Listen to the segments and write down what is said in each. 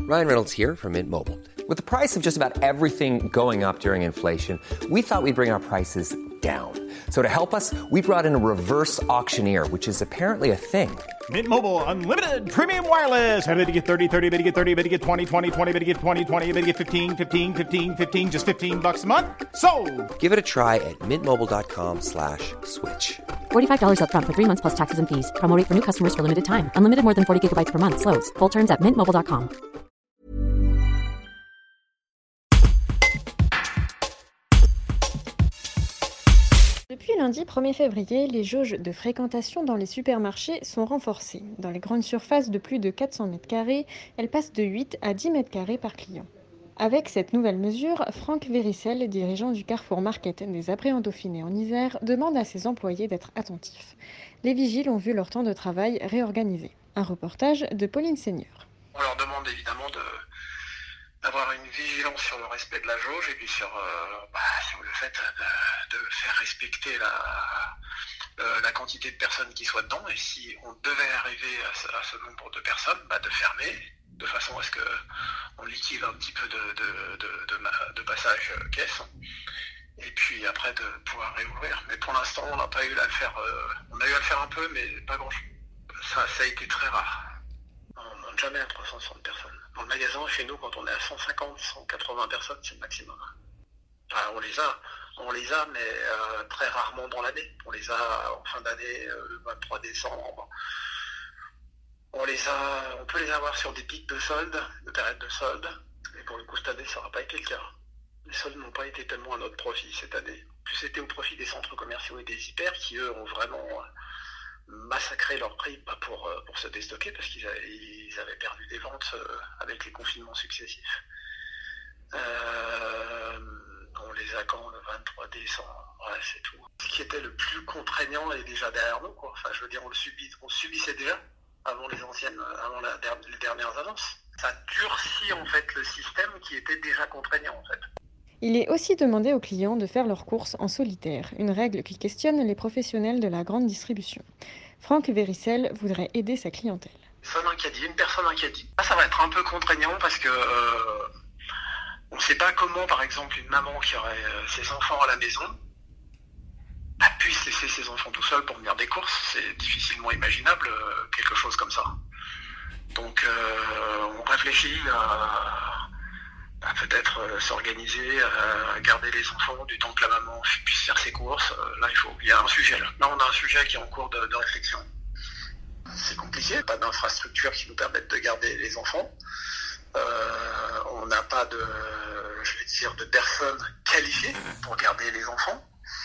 Ryan Reynolds here from Mint Mobile. With the price of just about everything going up during inflation, we thought we'd bring our prices down. So to help us, we brought in a reverse auctioneer, which is apparently a thing. Mint Mobile Unlimited Premium Wireless. How to get 30, 30, bit to get 30, bit to get 20, 20, 20, bit to get 20, 20, bit to get 15, 15, 15, 15, just $15 a month? Sold! Give it a try at mintmobile.com/switch. $45 up front for 3 months plus taxes and fees. Promo rate for new customers for limited time. Unlimited more than 40 gigabytes per month. Slows full terms at mintmobile.com. Depuis lundi 1er février, les jauges de fréquentation dans les supermarchés sont renforcées. Dans les grandes surfaces de plus de 400 m², elles passent de 8 à 10 m² par client. Avec cette nouvelle mesure, Franck Véricel, dirigeant du Carrefour Market des Abrets en Dauphiné en Isère, demande à ses employés d'être attentifs. Les vigiles ont vu leur temps de travail réorganisé. Un reportage de Pauline Seigneur. On leur demande évidemment d'avoir une vigilance sur le respect de la jauge et puis sur le fait de faire respecter la quantité de personnes qui soient dedans. Et si on devait arriver à ce nombre de personnes, de fermer de façon à ce qu'on liquide un petit peu de passage caisse et puis après de pouvoir réouvrir. Mais pour l'instant, on n'a pas eu à le faire. On a eu à le faire un peu, mais pas grand-chose. Ça a été très rare. On ne monte jamais à 360 personnes. Dans le magasin, chez nous, quand on est à 150, 180 personnes, c'est le maximum. Enfin, on les a, mais très rarement dans l'année. On les a en fin d'année, le 23 décembre. On peut les avoir sur des pics de soldes, de périodes de soldes. Et pour le coup, cette année, ça n'aura pas été le cas. Les soldes n'ont pas été tellement à notre profit cette année. Plus c'était au profit des centres commerciaux et des hyper qui, eux, ont vraiment massacré leur prix pour se déstocker parce qu'ils avaient perdu des ventes avec les confinements successifs. On les a quand le 23 décembre, ouais, c'est tout. Ce qui était le plus contraignant est déjà derrière nous, quoi. Enfin, je veux dire, on subissait déjà avant les dernières annonces. Ça durcit en fait le système qui était déjà contraignant en fait. Il est aussi demandé aux clients de faire leurs courses en solitaire, une règle qui questionne les professionnels de la grande distribution. Franck Véricel voudrait aider sa clientèle. Une personne un caddie. Ça va être un peu contraignant parce que on ne sait pas comment, par exemple, une maman qui aurait ses enfants à la maison puisse laisser ses enfants tout seuls pour venir des courses. C'est difficilement imaginable, quelque chose comme ça. Donc on réfléchit à peut-être s'organiser, à garder les enfants du temps que la maman puisse faire ses courses. Là, il y a un sujet. Là, on a un sujet qui est en cours de réflexion. C'est compliqué, pas d'infrastructure qui nous permette de garder les enfants. On n'a pas de personnes qualifiées pour garder les enfants.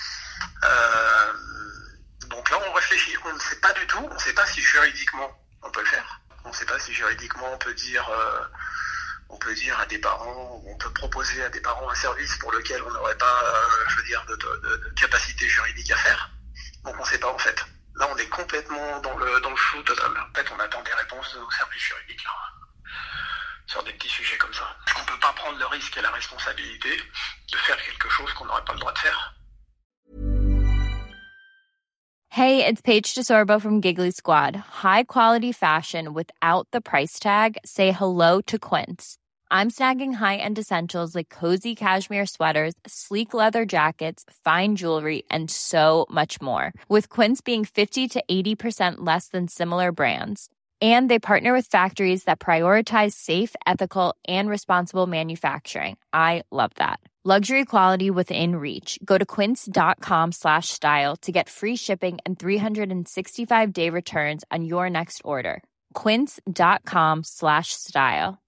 Donc là, on réfléchit. On ne sait pas du tout. On ne sait pas si juridiquement on peut le faire. On ne sait pas si juridiquement on peut dire à des parents, on peut proposer à des parents un service pour lequel on n'aurait pas, de capacité juridique à faire. Donc on ne sait pas en fait. Là, on est complètement dans le flou total. En fait, on attend des réponses de nos services juridiques là, sur des petits sujets comme ça. On ne peut pas prendre le risque et la responsabilité de faire quelque chose qu'on n'aurait pas le droit de faire. Hey, it's Paige DeSorbo from Giggly Squad. High quality fashion without the price tag. Say hello to Quince. I'm snagging high-end essentials like cozy cashmere sweaters, sleek leather jackets, fine jewelry, and so much more. With Quince being 50 to 80% less than similar brands. And they partner with factories that prioritize safe, ethical, and responsible manufacturing. I love that. Luxury quality within reach. Go to quince.com/style to get free shipping and 365-day returns on your next order. Quince.com/style.